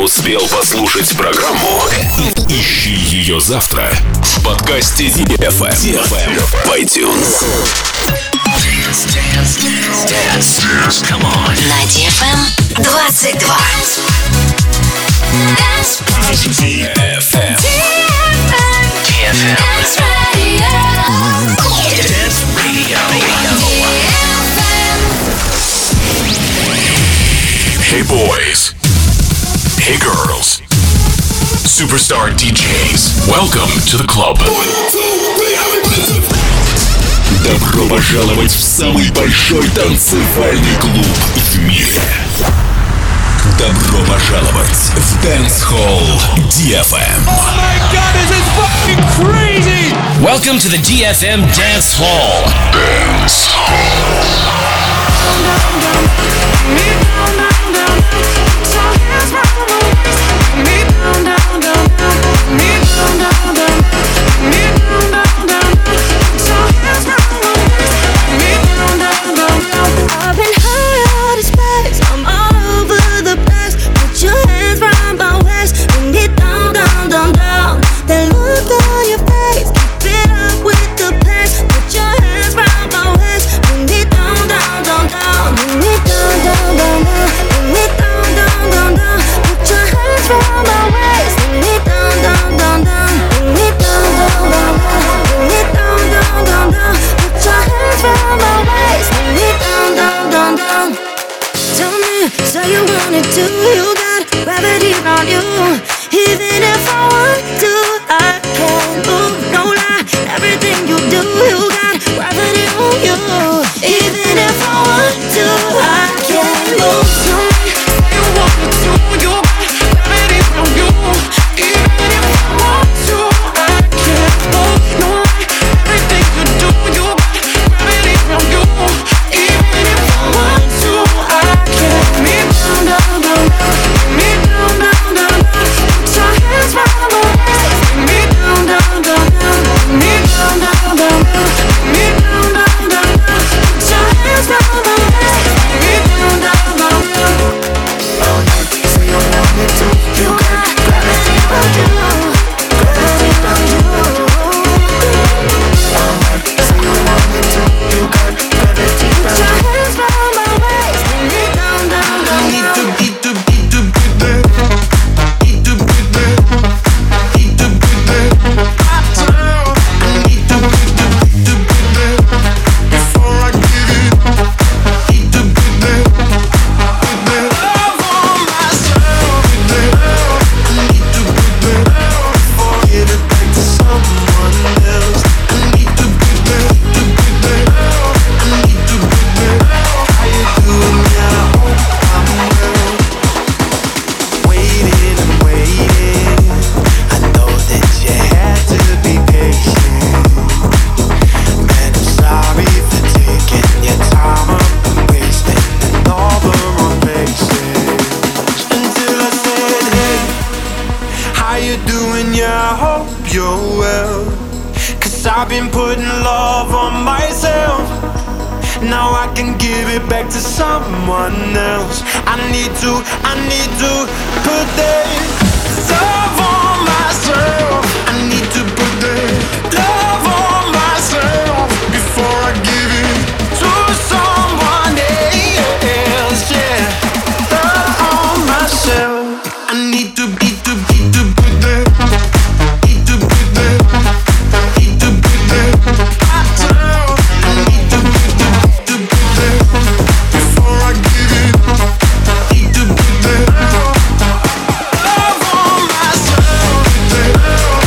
успел послушать программу? Ищи ее завтра в подкасте DFM в iTunes. Dance. Come on. На DFM 22. DFM. Dance Radio. Hey boys. Hey girls. Superstar DJs. Welcome to the club. Добро пожаловать в самый большой танцевальный клуб в мире. Добро пожаловать в Dance Hall DFM. Oh my God, this is fucking crazy! Welcome to the DFM Dance Hall. Dance Hall. I've been high out of space, I'm all over the place. Put your hands round my waist, bring it down, down, down, down. That look on your face, keep it up with the pace. Put your hands round my waist, bring it down, down, down, down. Bring it down, down, down, down. Bring it down, down, down, down. Put your hands round my waist, bring it down, down, down, down. Bring it down, down, down, down. Bring it down, down, down, down. Put your hands round my waist, bring it down, down, down, down. Tell me, so you wanted to, you got gravity on you. Even if I want to, I can't move, no lie. Everything you do, you got gravity on you. Even if I want to, I can't move. Tell me, so you wanted to, you got gravity on you. Even if I want to, I can't move, no lie. Everything you do, you got gravity on you. Even if I want to, I can't. Me down, down, down, me down, down, down, down. Put your hands round my waist. Me down, down, down, down. Me down, down, down, down. Me down, down, down, down. Put your hands round my waist. Me down, down, down, down. So you want me to? You got gravity on you. Gravity on you. So you want me to? You got gravity on you. Put your hands round my waist. Me down, down, down, down. I've been putting love on myself. Now I can give it back to someone else. I need to put that love on myself. I need to put that love on myself before I give it to someone else. Yeah, love on myself. I need to put that. Love on myself.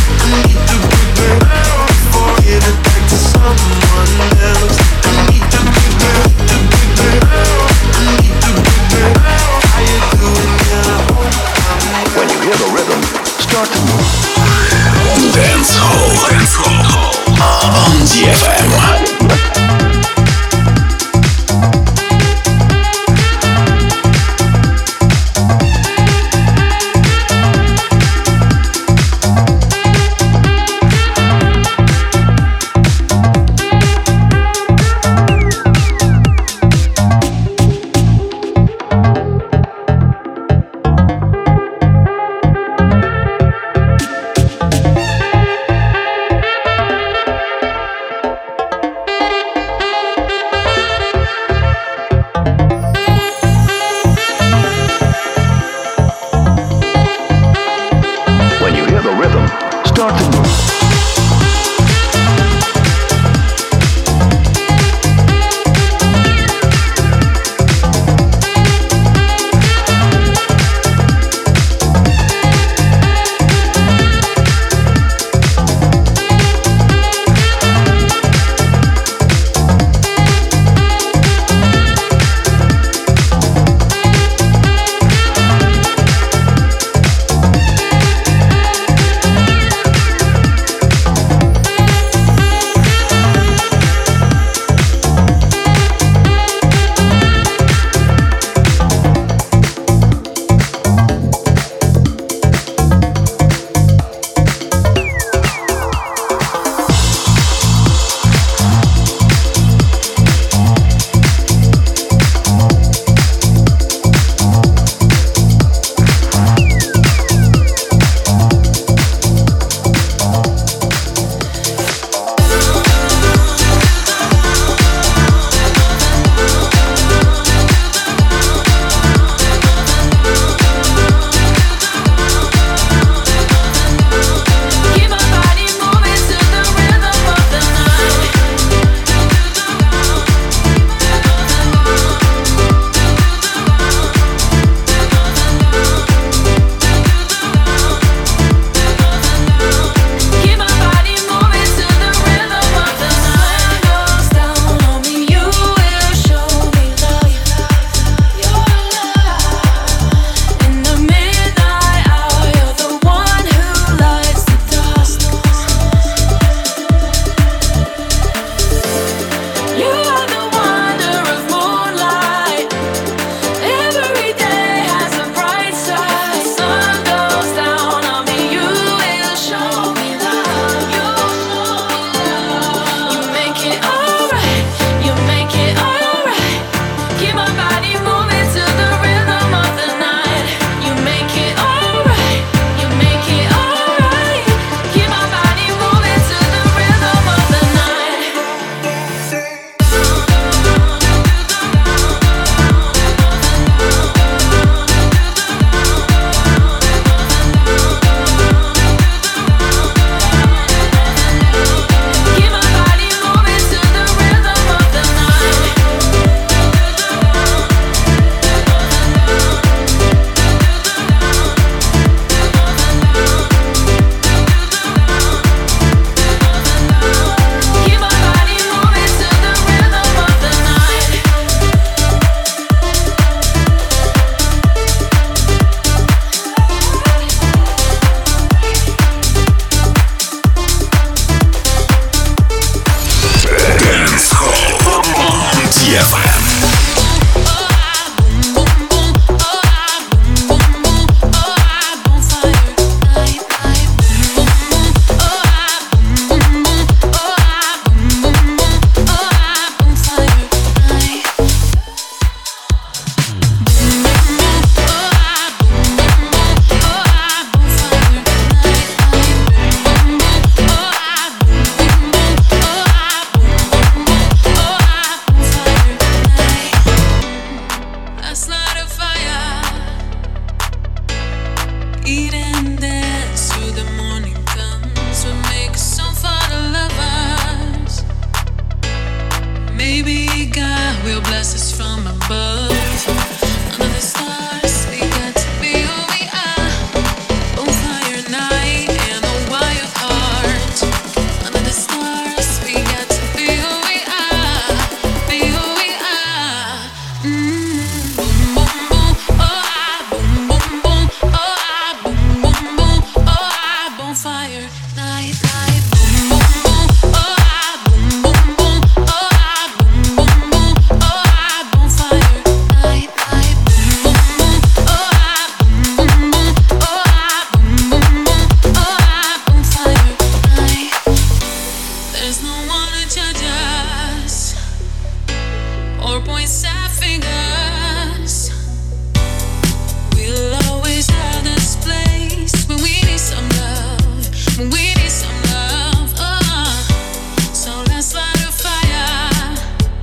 fingers. We'll always have this place when we need some love, when we need some love. So let's light a fire,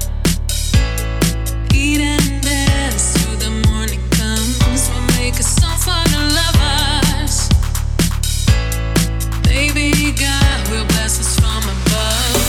eat and dance till the morning comes. We'll make a song for the lovers. Maybe God will bless us from above.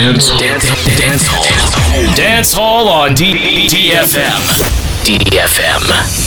Dance Hall on DFM. DFM.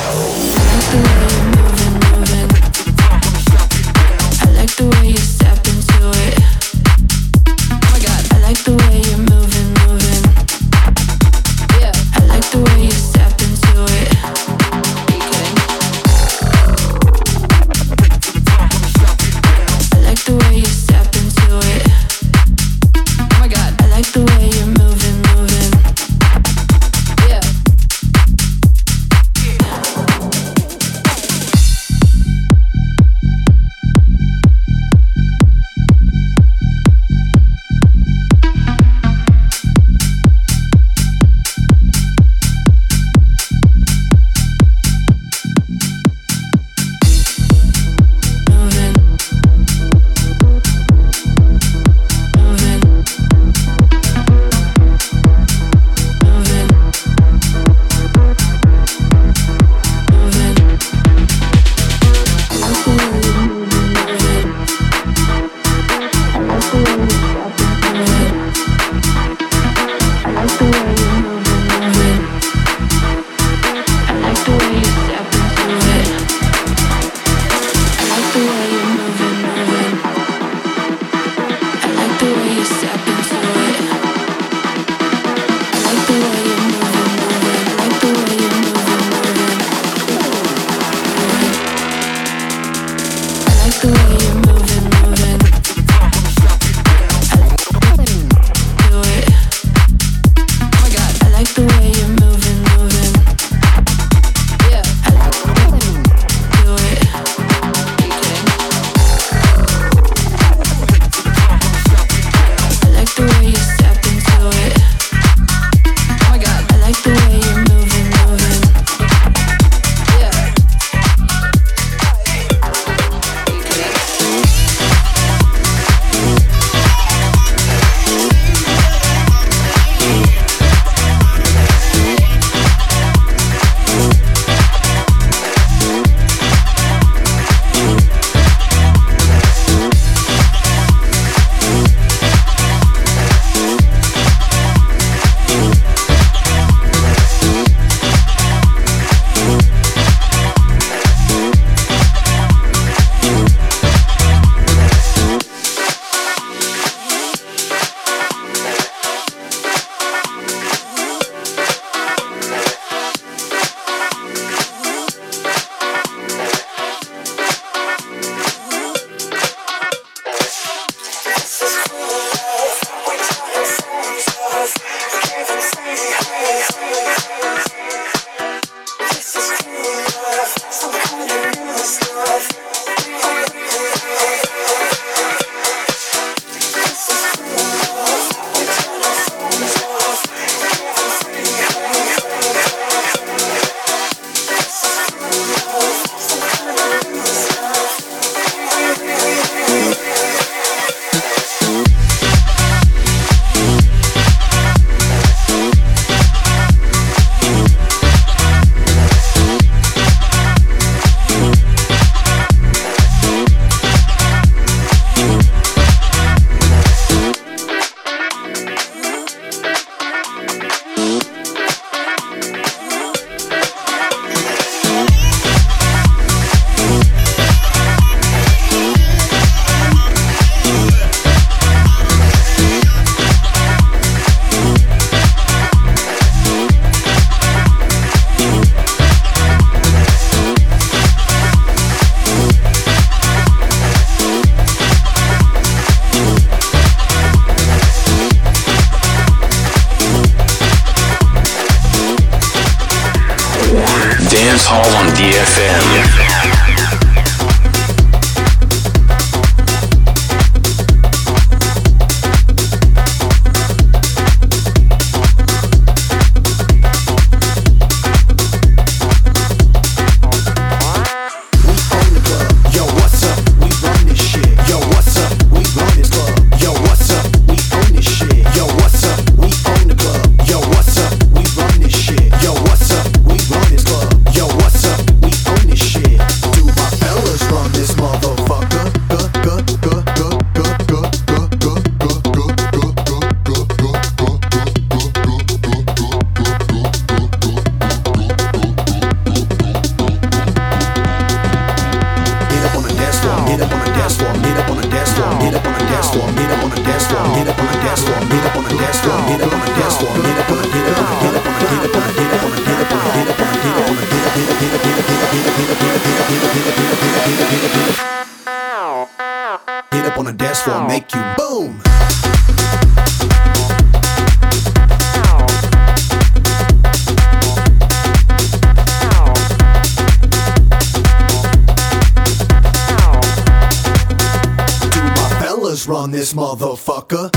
Dance Hall on DFM. Yo, what's up? We run this club. dance floor, get up on the dance floor, get up on the dance floor, get up on the dance floor, get up on the get up on the get up on the get up on the get up on the get up on the get up on the get up on the get up on the dance floor, make you boom. Run this motherfucker.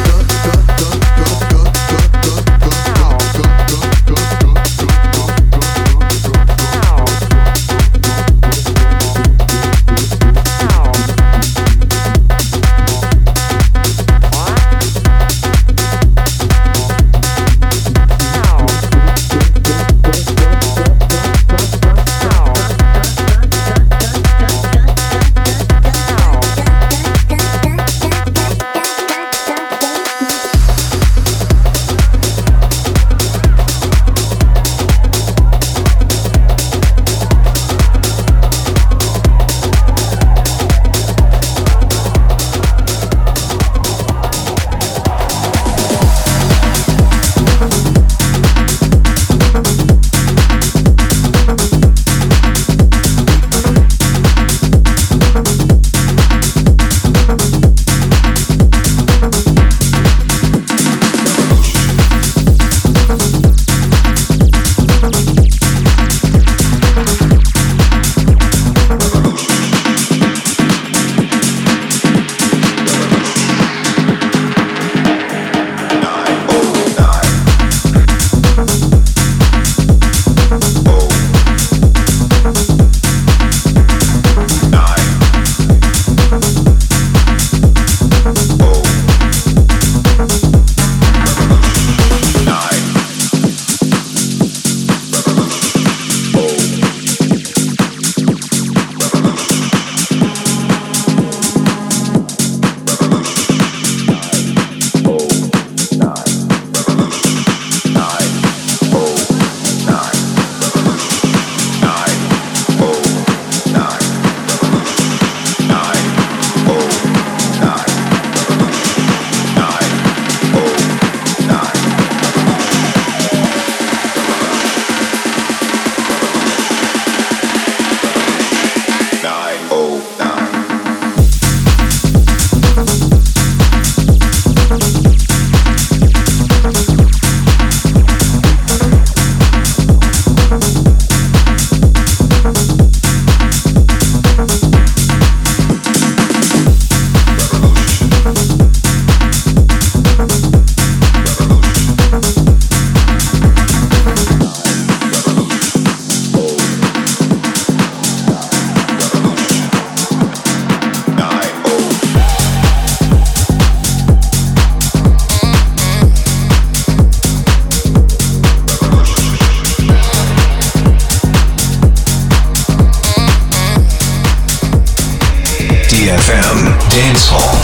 Dance Hall.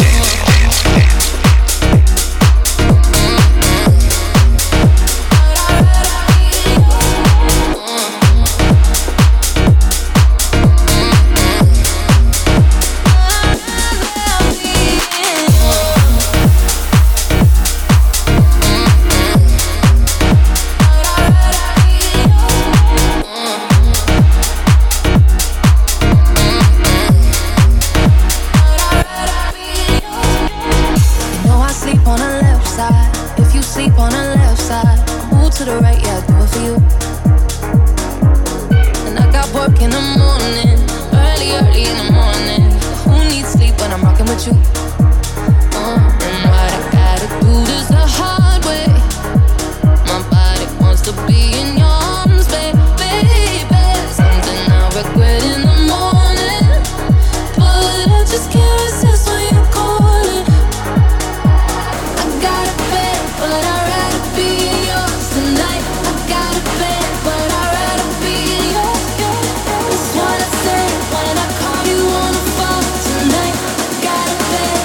When I call you on the phone tonight, I got a bed.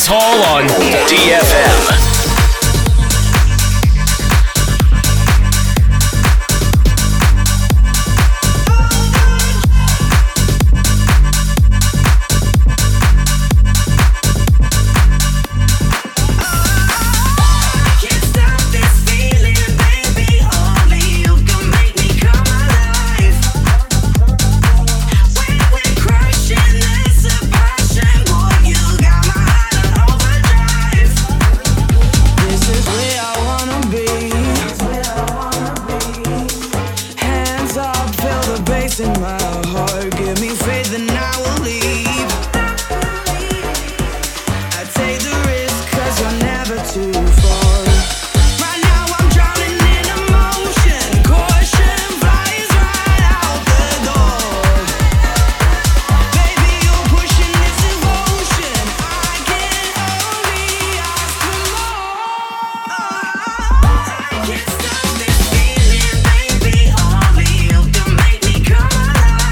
Dance Hall on DFM. Can't stop this feeling, baby. Only you can make me come alive.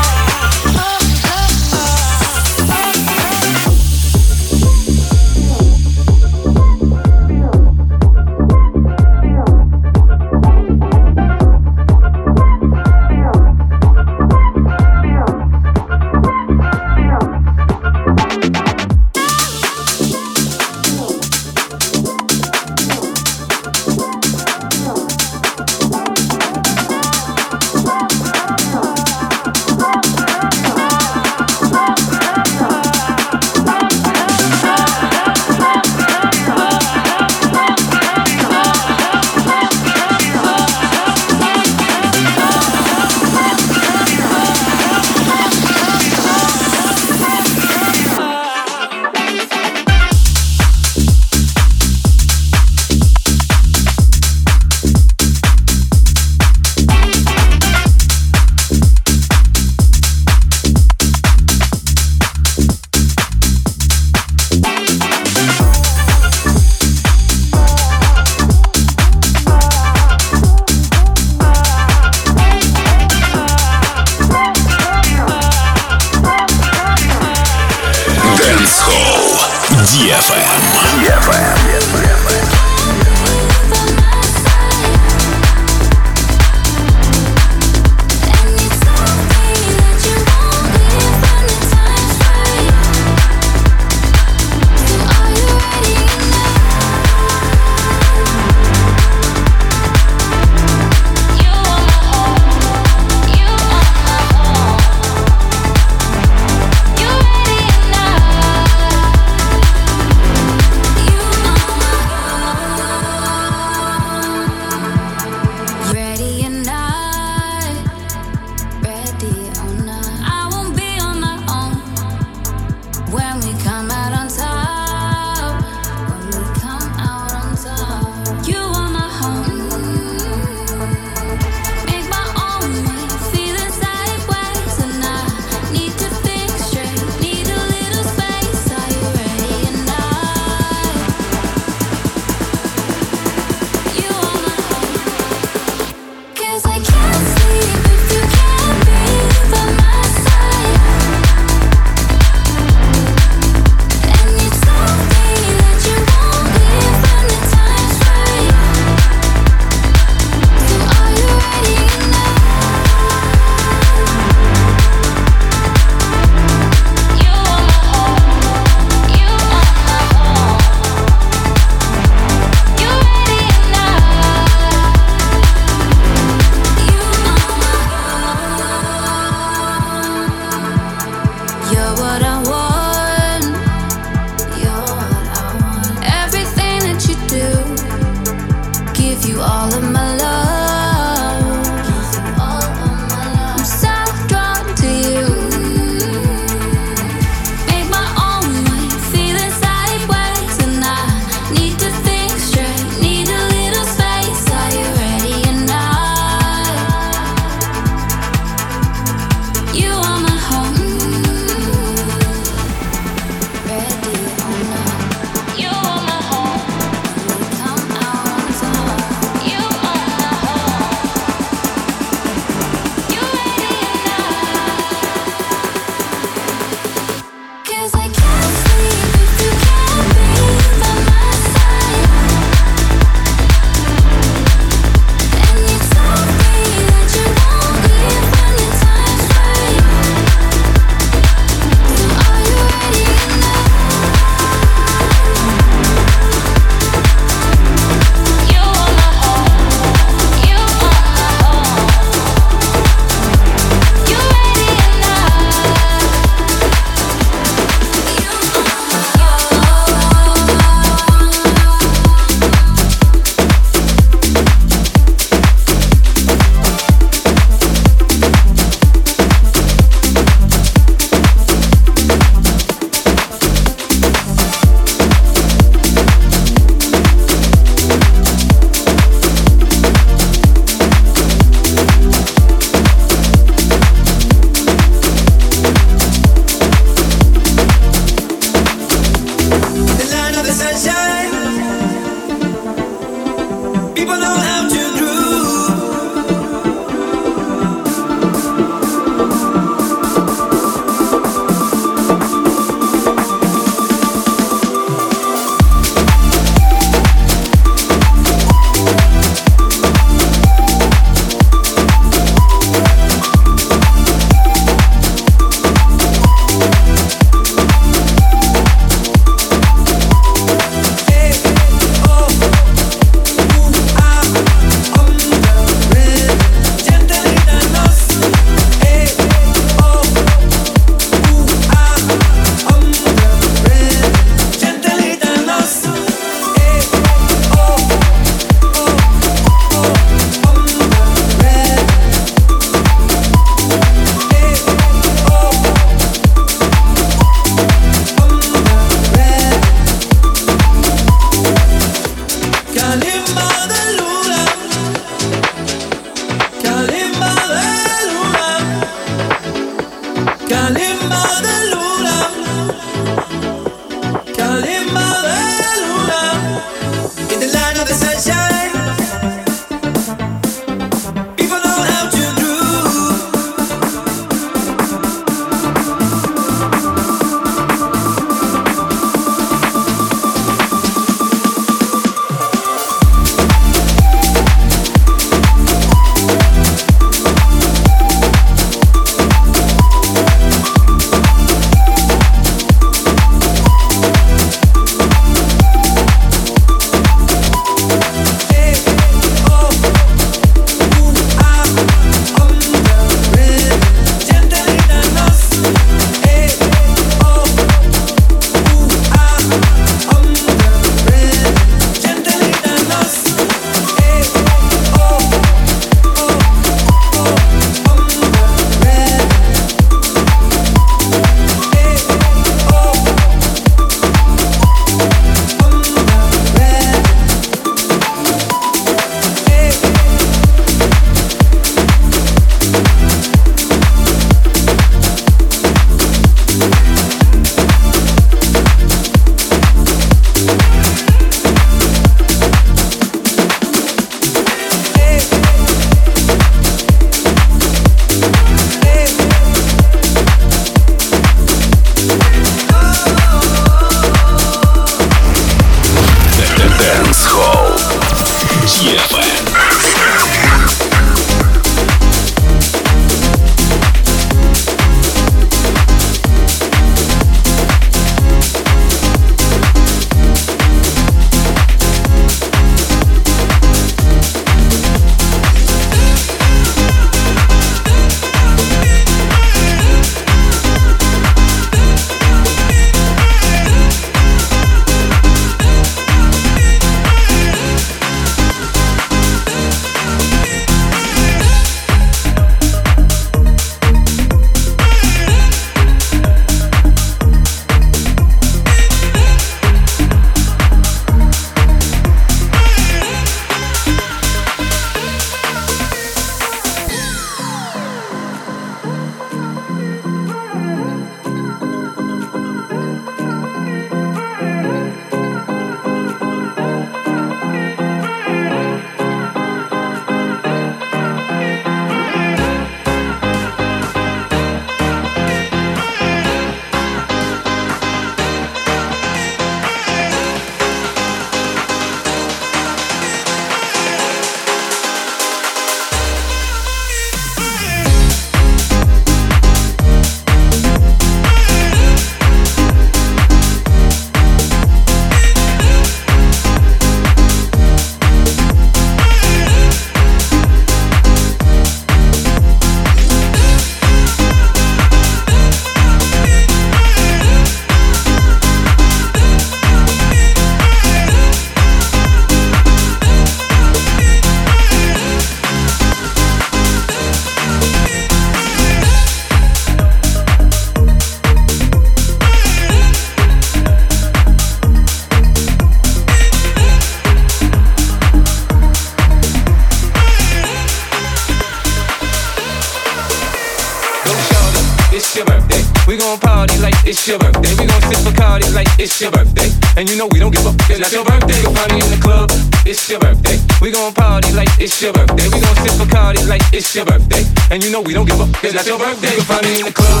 We gon' party like it's your birthday. We gon' sip Bacardi like it's your birthday. And you know we don't give up, it's not your birthday. You can find me in the club, it's your birthday. We gon' party like it's your birthday. We gon' sip Bacardi like it's your birthday. And you know we don't give up, it's not your birthday. You can find me in the club.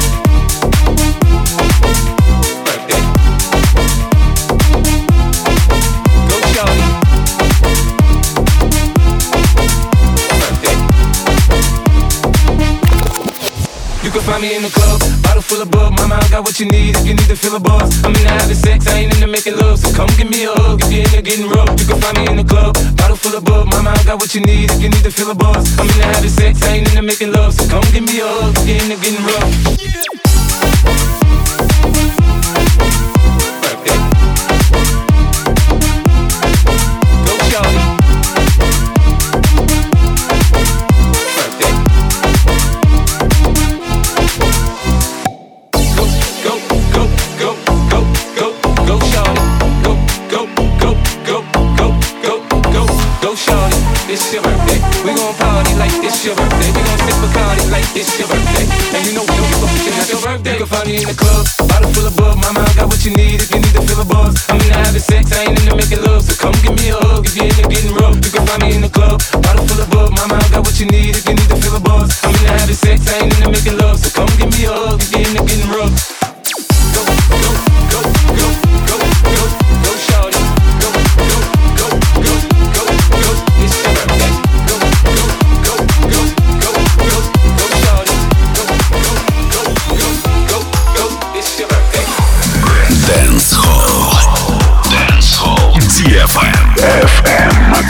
Birthday. Go shawty. Birthday. You can find me in the club, bottle full of bug. Mama, I got what you need if you need to feel a buzz. I'm into having sex, I ain't into making love. So come give me a hug if you're into getting rough. You can find me in the club, bottle full of bug. Mama, I got what you need if you need to feel a buzz. I'm into having sex, I ain't into making love. So come give me a hug if you're into getting rough. Birthday. Go shawty. Birthday. Go shawty, go shawty, it's your birthday. We gon' party like it's your birthday. We gon' sip Bacardi like it's your birthday. And you know we don't give up, it's not your birthday. You can find me in the club, bottle full of bug. Mama, I got what you need if you need to feel a buzz. I'm into having sex, I ain't into making love. So come give me a hug if you're into getting rough. You can find me in the club, bottle full of bug. Mama, I got what you need if you need to feel a buzz. I'm into having sex, I ain't into making love. So come give me a hug if you're into getting rough. Go, go, go, go, go, go, go, shawty. Go, go, go, go, go, go, it's your birthday. Go, go, go, go, go, go, go, shawty. Go, go, go, go, go, go, it's your birthday. Dance Hall DFM.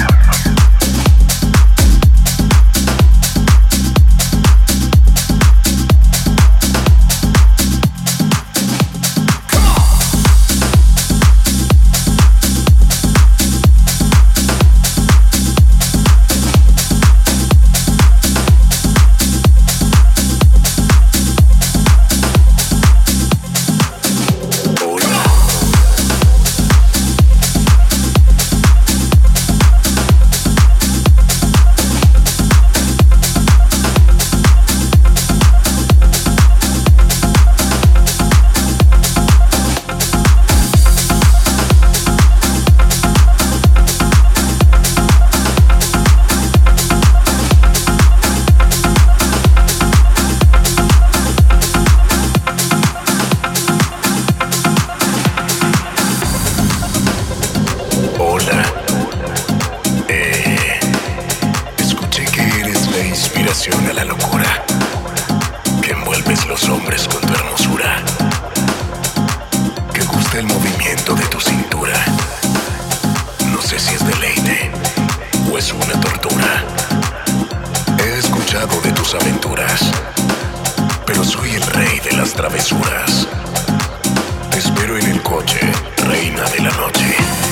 A la locura que envuelves los hombres con tu hermosura, que gusta el movimiento de tu cintura. No sé si es deleite o es una tortura. He escuchado de tus aventuras, pero soy el rey de las travesuras. Te espero en el coche, reina de la noche.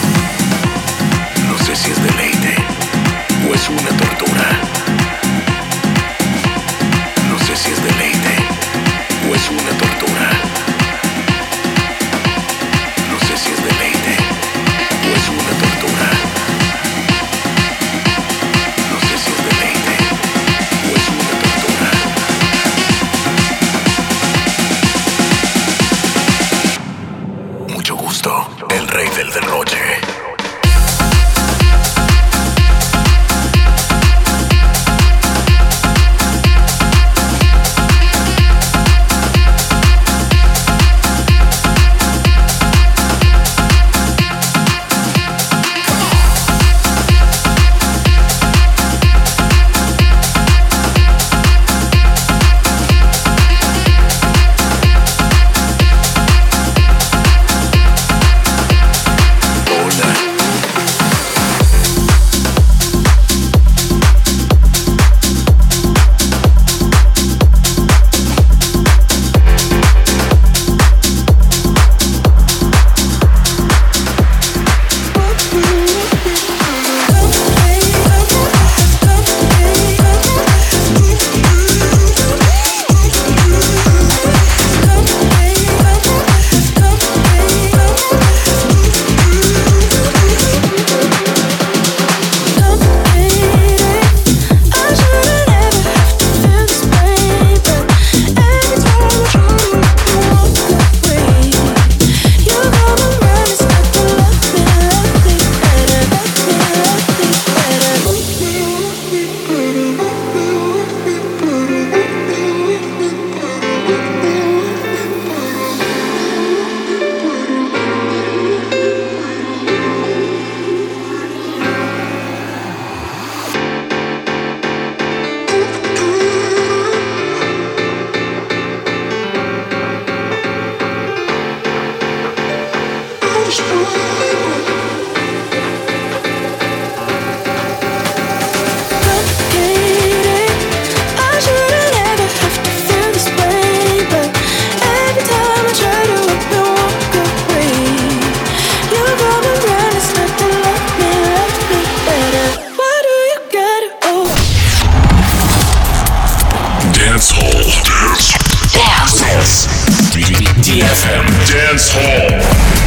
No sé si es deleite o es una tortura. No sé si es deleite o es una tortura. No sé si es deleite o es una tortura. No sé si es deleite o es una tortura. Mucho gusto, el rey del derroche. Dance Hall. Dance. DFM Dance Hall.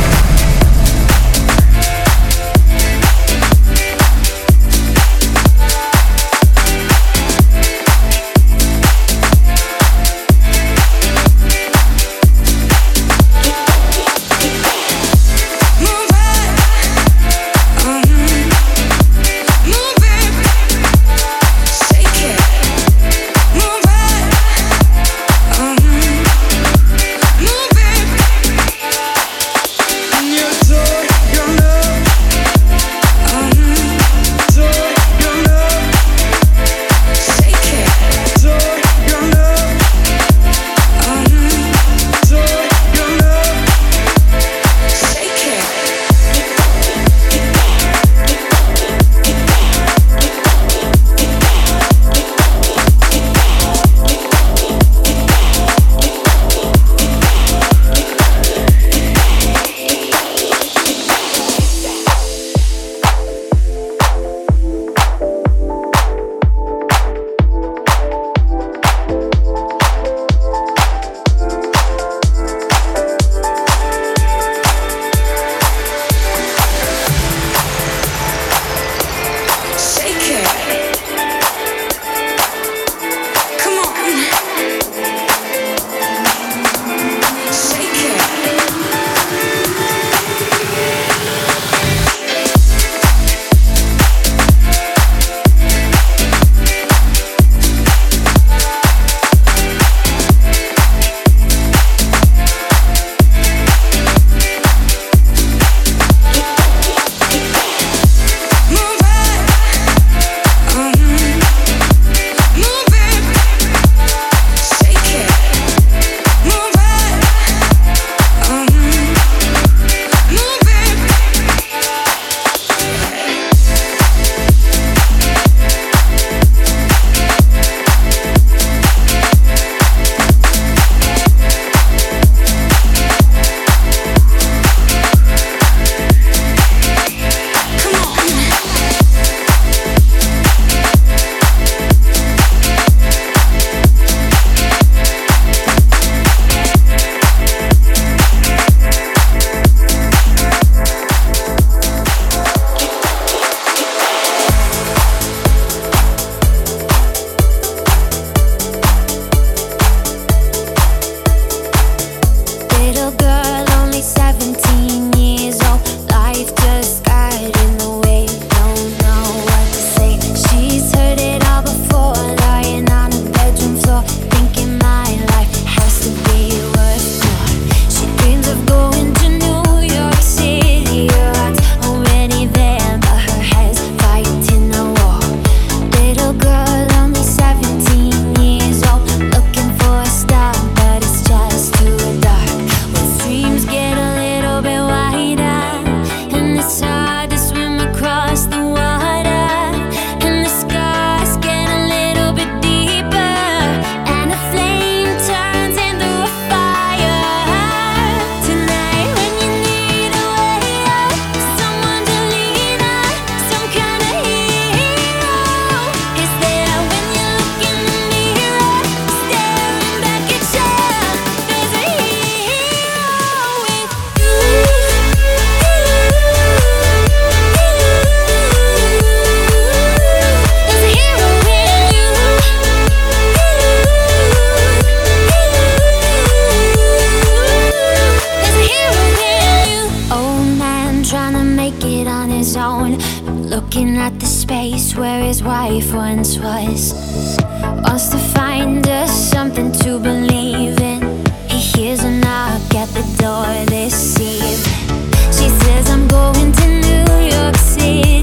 life once was. Wants to find us something to believe in. He hears a knock at the door this evening. She says, I'm going to New York City.